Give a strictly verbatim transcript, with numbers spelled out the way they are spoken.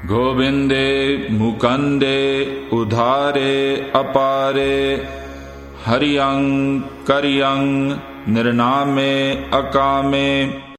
गोविन्दे मुकुन्दे उधारे अपारे हरियं करियं निर्नामे अकामे